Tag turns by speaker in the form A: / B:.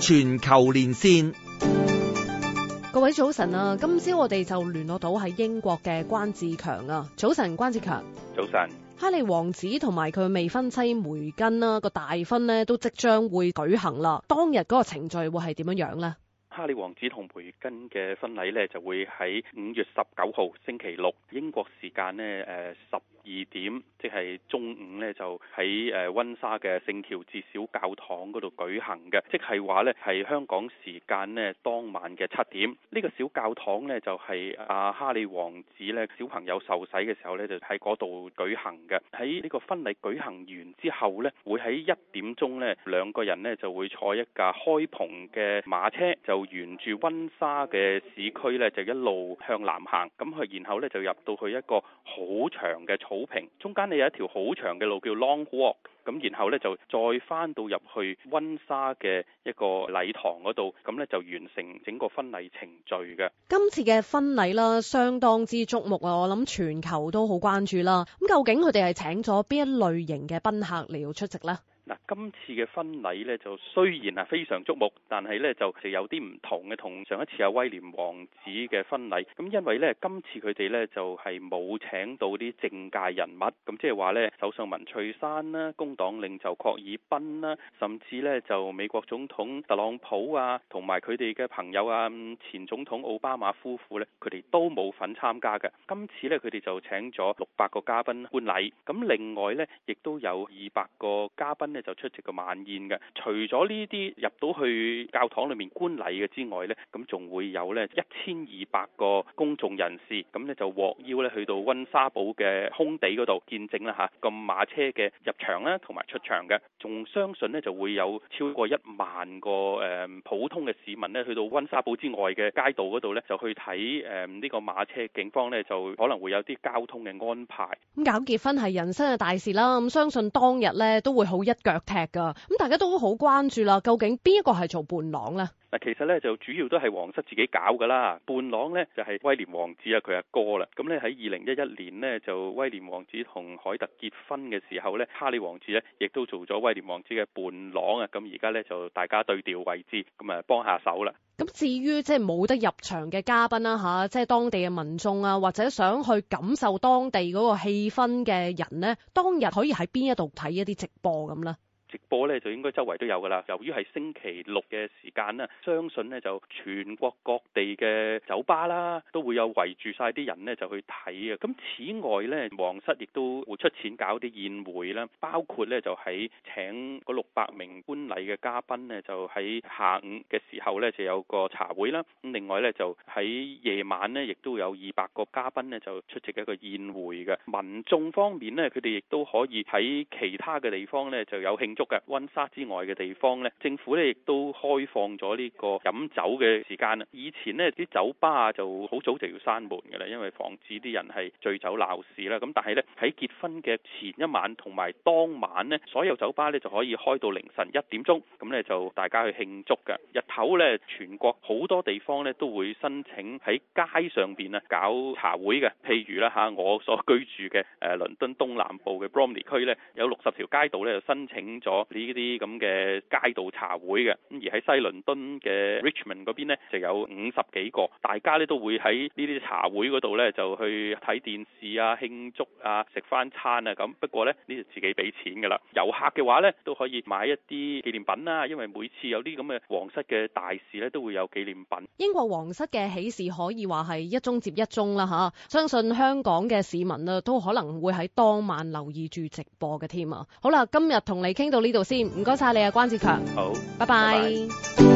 A: 全球連線。
B: 各位早晨啊，今朝我哋就聯絡到喺英國嘅關志強啊。早晨，關志強。
C: 早晨。
B: 哈利王子同埋佢未婚妻梅根啦，個大婚呢都即將會舉行啦。當日嗰個程序會係點樣樣呢？
C: 哈利王子同梅根嘅婚禮呢就會喺5月19號星期六英國時間呢12點，即係中午呢，就喺溫莎嘅聖喬治小教堂嗰度舉行嘅，即係話呢係香港時間呢當晚嘅7點。呢個小教堂呢，就係哈利王子呢小朋友受洗嘅時候呢，就喺嗰度舉行嘅。喺呢個婚禮舉行完之後呢，會喺1點鐘呢，兩個人呢就會坐一架開篷嘅馬車，就沿住溫莎嘅市區呢，就一路向南行，咁佢然後呢，就入到去一個好長嘅草坪，中間呢有一條好長嘅路叫 Long Walk， 咁然後呢，就再翻到入去溫莎嘅一個禮堂嗰度，咁呢，就完成整個婚禮程序嘅。
B: 今次嘅婚禮啦，相當之矚目啊！我諗全球都好關注啦。咁究竟佢哋係請咗邊一類型嘅賓客嚟到出席呢？
C: 嗱，今次嘅婚禮呢，就雖然係非常矚目，但係呢就有啲唔同嘅，同上一次威廉王子嘅婚禮。咁因為呢，今次佢哋呢就係冇請到啲政界人物，咁即係話呢，首相文翠珊啦、工黨領袖郝爾彬啦，甚至呢就美國總統特朗普啊，同埋佢哋嘅朋友啊，前總統奧巴馬夫婦呢，佢哋都冇份參加嘅。今次呢，佢哋就請咗600個嘉賓觀禮，咁另外呢，亦都有200個嘉賓呢就出席個晚宴嘅。除咗呢啲入到去教堂裏面觀禮嘅之外呢，咁仲會有呢1200個公眾人士，咁呢就獲邀呢去到溫莎堡嘅空地嗰度見證啦嚇個馬車嘅入場啦同埋出場嘅。仲相信呢就會有超過1萬個普通嘅市民呢去到溫莎堡之外嘅街道嗰度呢，就去睇呢個馬車。警方呢就可能會有啲交通嘅安排。
B: 咁搞結婚係人生嘅大事啦，咁相信當日呢都會好一腳踢噶。咁大家都好關注啦，究竟邊一個係做伴郎呢？
C: 嗱，其實咧就主要都係皇室自己搞噶啦。伴郎咧就係威廉王子啊，佢阿哥啦。咁咧喺2011年呢，就威廉王子同凱特結婚嘅時候咧，哈利王子咧亦都做咗威廉王子嘅伴郎啊。咁而家咧就大家對調位置，咁啊幫下手啦。
B: 咁至於即係冇得入場嘅嘉賓啦嚇，即係當地嘅民眾啊，或者想去感受當地嗰個氣氛嘅人呢，當日可以喺邊一度睇一啲直播咁呢？
C: 直播咧就應該周圍都有噶啦。由於係星期六嘅時間啦，相信呢就全國各地嘅酒吧啦都會有圍住晒啲人呢就去睇啊。咁此外呢，皇室亦都會出錢搞啲宴會啦，包括呢就喺請嗰600名觀禮嘅嘉賓呢，就喺下午嘅時候呢就有個茶會啦。咁另外呢，就喺夜晚呢，亦都有200個嘉賓呢就出席一個宴會嘅。民眾方面呢，佢哋亦都可以喺其他嘅地方呢就有慶祝嘅。溫莎之外嘅地方呢，政府呢亦都開放咗呢個飲酒嘅時間啦。以前呢啲酒吧啊就好早就要閂門嘅啦，因為防止啲人係醉酒鬧事啦。咁但係呢，喺結婚嘅前一晚同埋當晚呢，所有酒吧呢就可以開到凌晨1點鐘，咁呢就大家去慶祝嘅。日頭呢，全國好多地方呢都會申請喺街上邊啊搞茶會嘅。譬如啦嚇，我所居住嘅倫敦東南部嘅 Bromley 區呢，有60條街道呢就申請咗呢啲咁嘅街道茶會嘅。咁而喺西倫敦嘅 Richmond 嗰邊呢，就有50幾個，大家呢都會喺呢啲茶會嗰度呢，就去睇電視啊、慶祝啊、食翻餐啊咁。不過呢，呢就自己俾錢噶啦。遊客嘅話呢，都可以買一啲紀念品啦，因為每次有啲咁嘅皇室嘅大事呢，都會有紀念品。
B: 英國皇室嘅喜事可以話係一宗接一宗啦嚇，相信香港嘅市民啊都可能會喺當晚留意住直播嘅添啊。好啦，今日同你傾到呢度先，唔該晒你啊，關志強。
C: 好，
B: 拜拜。
C: 拜拜。